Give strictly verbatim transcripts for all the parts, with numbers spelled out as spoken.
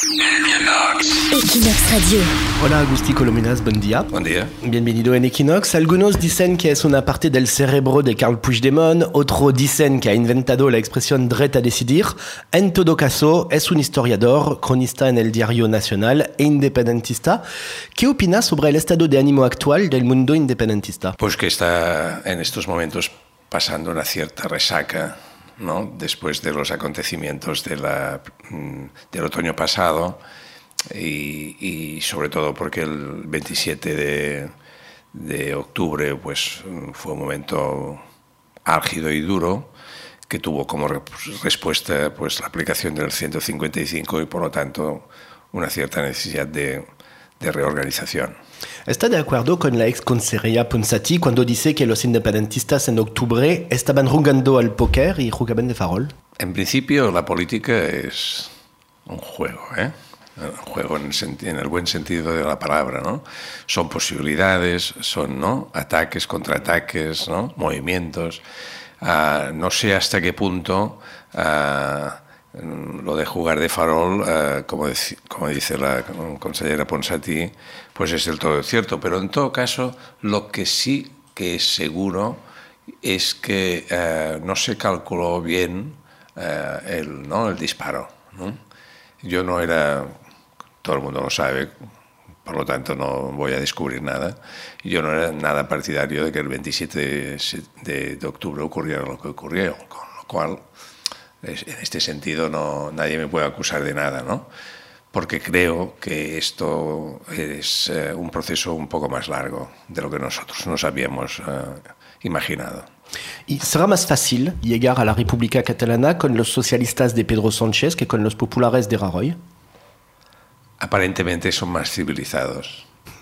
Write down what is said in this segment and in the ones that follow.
Equinox Radio. Hola Agustí Colominas, buen día. Buen día. Bienvenido en Equinox. Algunos dicen que es una parte del cerebro de Carl Puigdemont, otros dicen que ha inventado la expresión derecho a decidir. En todo caso, es un historiador, cronista en el Diario Nacional e independentista. ¿Qué opina sobre el estado de ánimo actual del mundo independentista? Pues que está en estos momentos pasando una cierta resaca, ¿no? Después de los acontecimientos de la, del otoño pasado y, y sobre todo porque el veintisiete de, de octubre pues, fue un momento álgido y duro que tuvo como respuesta pues, la aplicación del ciento cincuenta y cinco y por lo tanto una cierta necesidad de, de reorganización. ¿Está de acuerdo con la ex consejería Ponsati cuando dice que los independentistas en octubre estaban jugando al póker y jugaban de farol? En principio la política es un juego, ¿eh? Un juego en el, en el buen sentido de la palabra, ¿no? Son posibilidades, son, ¿no?, ataques, contraataques, ¿no?, movimientos. Uh, no sé hasta qué punto uh, lo de jugar de farol, uh, como, dec- como dice la consellera Ponsati, pues es del todo cierto. Pero en todo caso, lo que sí que es seguro es que uh, no se calculó bien uh, el, ¿no?, el disparo, ¿no? Yo no era, todo el mundo lo sabe, por lo tanto no voy a descubrir nada. Yo no era nada partidario de que el veintisiete de octubre ocurriera lo que ocurrió, con lo cual, en este sentido, no, nadie me puede acusar de nada, ¿no? Porque creo que esto es eh, un proceso un poco más largo de lo que nosotros nos habíamos eh, imaginado. ¿Y será más fácil llegar a la República Catalana con los socialistas de Pedro Sánchez que con los populares de Rajoy? Aparentemente son más civilizados.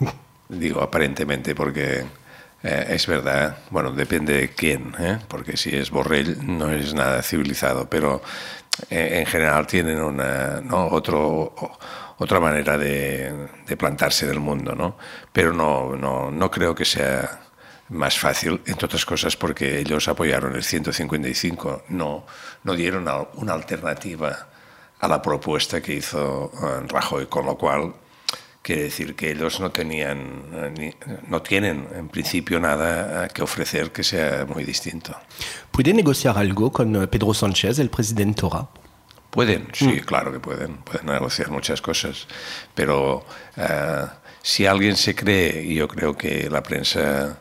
Digo aparentemente porque eh, es verdad, bueno, depende de quién, ¿eh? Porque si es Borrell no es nada civilizado, pero eh, en general tienen una, ¿no?, otro, otra manera de, de plantarse en el mundo, ¿no? Pero no, no, no creo que sea más fácil, entre otras cosas porque ellos apoyaron el ciento cincuenta y cinco, no, no dieron una alternativa a la propuesta que hizo Rajoy, con lo cual quiere decir que ellos no tenían, ni, no tienen en principio nada que ofrecer que sea muy distinto. ¿Puede negociar algo con Pedro Sánchez, el presidente ahora? Pueden, sí, mm. claro que pueden, pueden negociar muchas cosas, pero uh, si alguien se cree, y yo creo que la prensa,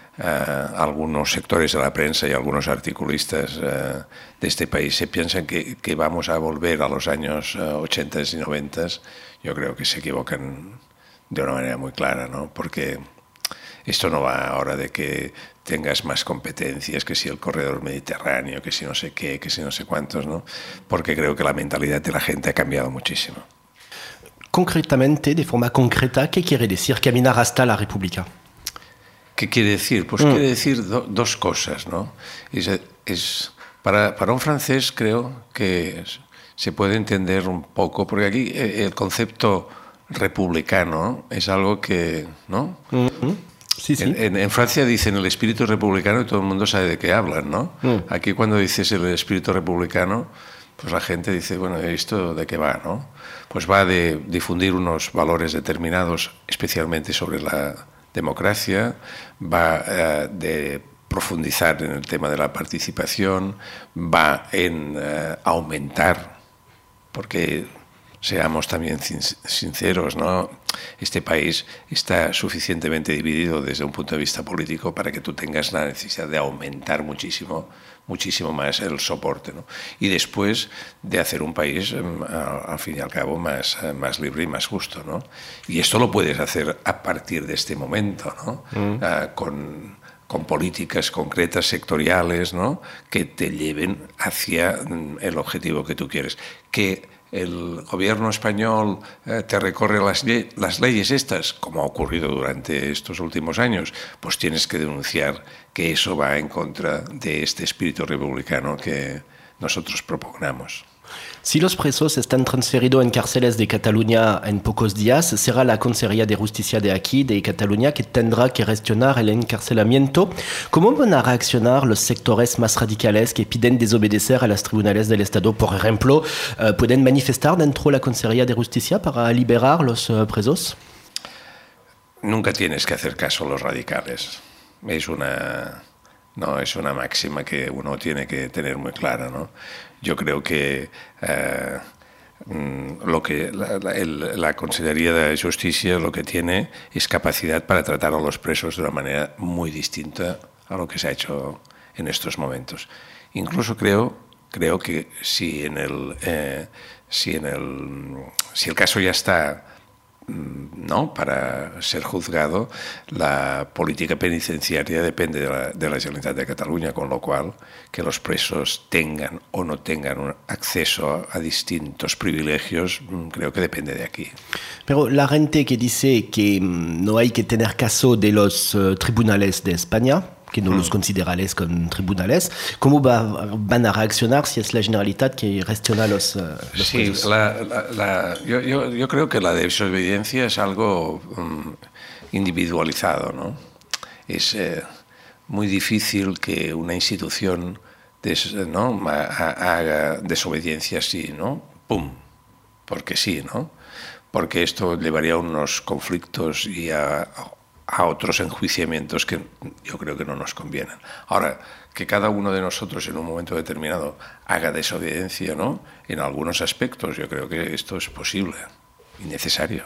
Uh, algunos sectores de la prensa y algunos articulistas uh, de este país se piensan que, que vamos a volver a los años uh, ochenta y noventa, yo creo que se equivocan de una manera muy clara, ¿no? Porque esto no va ahora de que tengas más competencias, que si el corredor mediterráneo, que si no sé qué, que si no sé cuántos, ¿no? Porque creo que la mentalidad de la gente ha cambiado muchísimo. Concretamente, de forma concreta, ¿qué quiere decir caminar hasta la República? ¿Qué quiere decir? Pues mm. quiere decir do, dos cosas, ¿no? Es, es, para, para un francés creo que es, se puede entender un poco, porque aquí el concepto republicano es algo que, ¿no? Mm-hmm. Sí, sí. En, en, en Francia dicen el espíritu republicano y todo el mundo sabe de qué hablan, ¿no? Mm. Aquí cuando dices el espíritu republicano, pues la gente dice, bueno, ¿esto de qué va, no? Pues va de difundir unos valores determinados, especialmente sobre la democracia, va uh, de profundizar en el tema de la participación, va en uh, aumentar, porque seamos también sinceros, ¿no? Este país está suficientemente dividido desde un punto de vista político para que tú tengas la necesidad de aumentar muchísimo, muchísimo más el soporte, ¿no? Y después de hacer un país, al fin y al cabo, más, más libre y más justo, ¿no? Y esto lo puedes hacer a partir de este momento, ¿no? Mm. Uh, con, con políticas concretas, sectoriales, ¿no?, que te lleven hacia el objetivo que tú quieres. Que el gobierno español eh, te recorre las, le- las leyes estas, como ha ocurrido durante estos últimos años, pues tienes que denunciar que eso va en contra de este espíritu republicano que nosotros propugnamos. Si los presos están transferidos en cárceles de Cataluña en pocos días, será la Consejería de Justicia de aquí, de Cataluña, que tendrá que gestionar el encarcelamiento. ¿Cómo van a reaccionar los sectores más radicales que piden desobedecer a los tribunales del Estado? Por ejemplo, ¿pueden manifestar dentro de la Consejería de Justicia para liberar los presos? Nunca tienes que hacer caso a los radicales. Es una... No, es una máxima que uno tiene que tener muy clara, ¿no? Yo creo que eh, lo que la, la, el, la Consejería de Justicia lo que tiene es capacidad para tratar a los presos de una manera muy distinta a lo que se ha hecho en estos momentos. Incluso creo, creo que si en el, eh, si en el, si el caso ya está, ¿no?, para ser juzgado, la política penitenciaria depende de la, de la Generalitat de Cataluña, con lo cual que los presos tengan o no tengan un acceso a, a distintos privilegios, creo que depende de aquí. Pero la gente que dice que no hay que tener caso de los uh, tribunales de España, que no mm. los considerales como tribunales, ¿cómo va, van a reaccionar si es la Generalitat que gestiona los, uh, los sí, presos? La, la, la, yo, yo, yo creo que la desobediencia es algo um, individualizado, ¿no? Es eh, muy difícil que una institución des, ¿no? haga desobediencia así, ¿no? ¡Pum! Porque sí, ¿no? Porque esto llevaría a unos conflictos y a... a otros enjuiciamientos que yo creo que no nos convienen. Ahora, que cada uno de nosotros en un momento determinado haga desobediencia, ¿no?, en algunos aspectos, yo creo que esto es posible y necesario.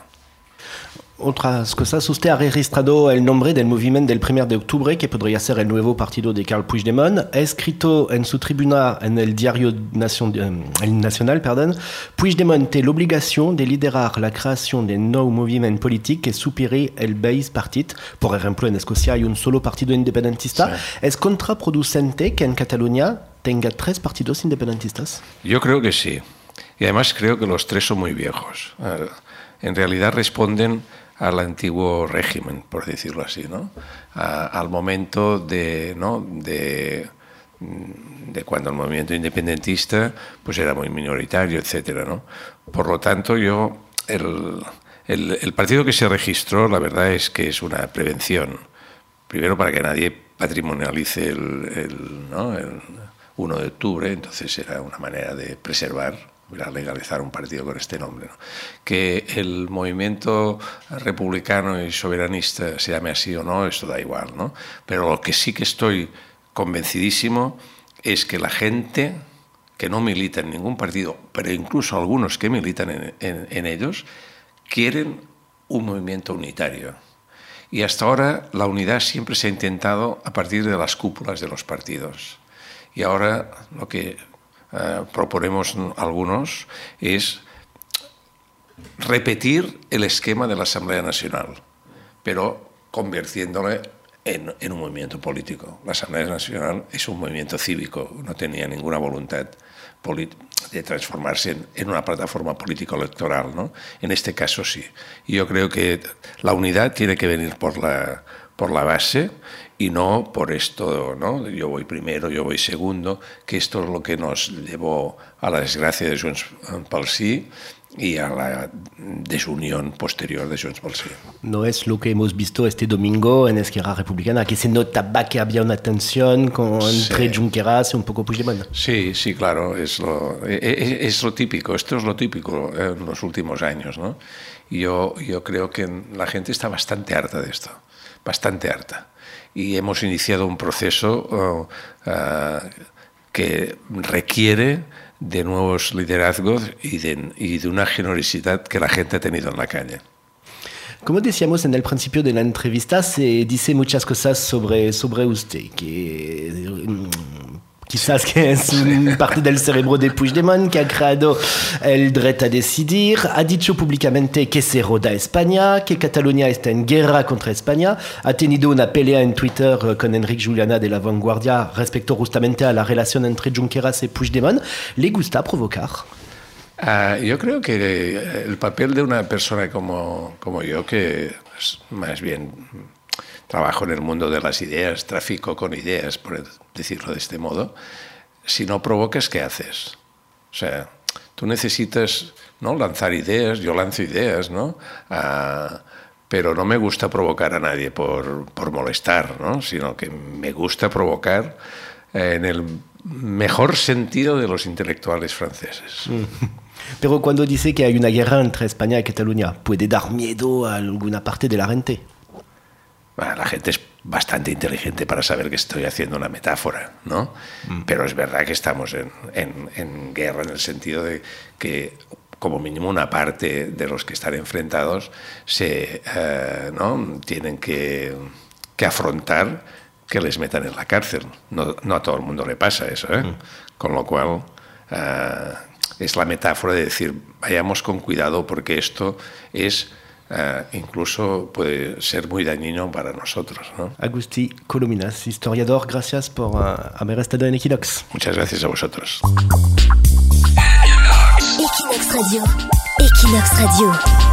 Otras cosas, usted ha registrado el nombre del movimiento del primero de octubre, que podría ser el nuevo partido de Carles Puigdemont. Ha escrito en su tribuna, en el diario Nacion, el Nacional, perdón, Puigdemont tiene la obligación de liderar la creación de un nuevo movimiento político que supere el Base Partit. Por ejemplo, en Escocia hay un solo partido independentista. Sí. ¿Es contraproducente que en Cataluña tenga tres partidos independentistas? Yo creo que sí. Y además creo que los tres son muy viejos. En realidad responden al antiguo régimen, por decirlo así, ¿no? A, al momento de, ¿no?, de, de cuando el movimiento independentista pues era muy minoritario, etcétera, ¿no? Por lo tanto, yo el, el, el partido que se registró, la verdad es que es una prevención. Primero, para que nadie patrimonialice el, el, ¿no?, el uno de octubre, entonces era una manera de preservar, a legalizar un partido con este nombre, ¿no? Que el movimiento republicano y soberanista se llame así o no, esto da igual, ¿no? Pero lo que sí que estoy convencidísimo es que la gente que no milita en ningún partido, pero incluso algunos que militan en, en, en ellos, quieren un movimiento unitario. Y hasta ahora la unidad siempre se ha intentado a partir de las cúpulas de los partidos. Y ahora lo que Uh, proponemos algunos es repetir el esquema de la Asamblea Nacional, pero convirtiéndole en, en un movimiento político. La Asamblea Nacional es un movimiento cívico, no tenía ninguna voluntad de transformarse en, en una plataforma político-electoral, ¿no? En este caso sí. Y yo creo que la unidad tiene que venir por la, por la base y no por esto, ¿no? Yo voy primero, yo voy segundo, que esto es lo que nos llevó a la desgracia de Junts pel Sí y a la desunión posterior de Junts pel Sí. No es lo que hemos visto este domingo en Esquerra Republicana, que se notaba que había una tensión con, sí, entre Junqueras y un poco Puigdemont. Sí, sí, claro, es lo, es, es lo típico, esto es lo típico en los últimos años, ¿no? Y yo, yo creo que la gente está bastante harta de esto, bastante harta. Y hemos iniciado un proceso uh, uh, que requiere de nuevos liderazgos y de, y de una generosidad que la gente ha tenido en la calle. Como decíamos en el principio de la entrevista, se dice muchas cosas sobre, sobre usted, que quizás que es un parte del cerebro de Puigdemont, que ha creado el derecho a decidir, ha dicho públicamente que se roda España, que Cataluña está en guerra contra España, ha tenido una pelea en Twitter con Enric Juliana de La Vanguardia respecto justamente a la relación entre Junqueras y Puigdemont. ¿Le gusta provocar? Uh, yo creo que el papel de una persona como, como yo, que es más bien trabajo en el mundo de las ideas, tráfico con ideas, por decirlo de este modo, si no provocas, ¿qué haces? O sea, tú necesitas, ¿no?, lanzar ideas, yo lanzo ideas, ¿no? Uh, pero no me gusta provocar a nadie por, por molestar, ¿no? Sino que me gusta provocar eh, en el mejor sentido de los intelectuales franceses. Mm. Pero cuando dice que hay una guerra entre España y Cataluña, ¿puede dar miedo a alguna parte de la gente? Bueno, la gente es bastante inteligente para saber que estoy haciendo una metáfora, ¿no? Mm. Pero es verdad que estamos en, en, en guerra en el sentido de que como mínimo una parte de los que están enfrentados se, eh, ¿no?, tienen que, que afrontar que les metan en la cárcel. No, no a todo el mundo le pasa eso, ¿eh? Mm. Con lo cual eh, es la metáfora de decir, vayamos con cuidado porque esto es eh, incluso puede ser muy dañino para nosotros, ¿no? Agustí Colominas, historiador, gracias por uh, haber estado en Equinox. Muchas gracias a vosotros. Equinox Radio. Equinox Radio.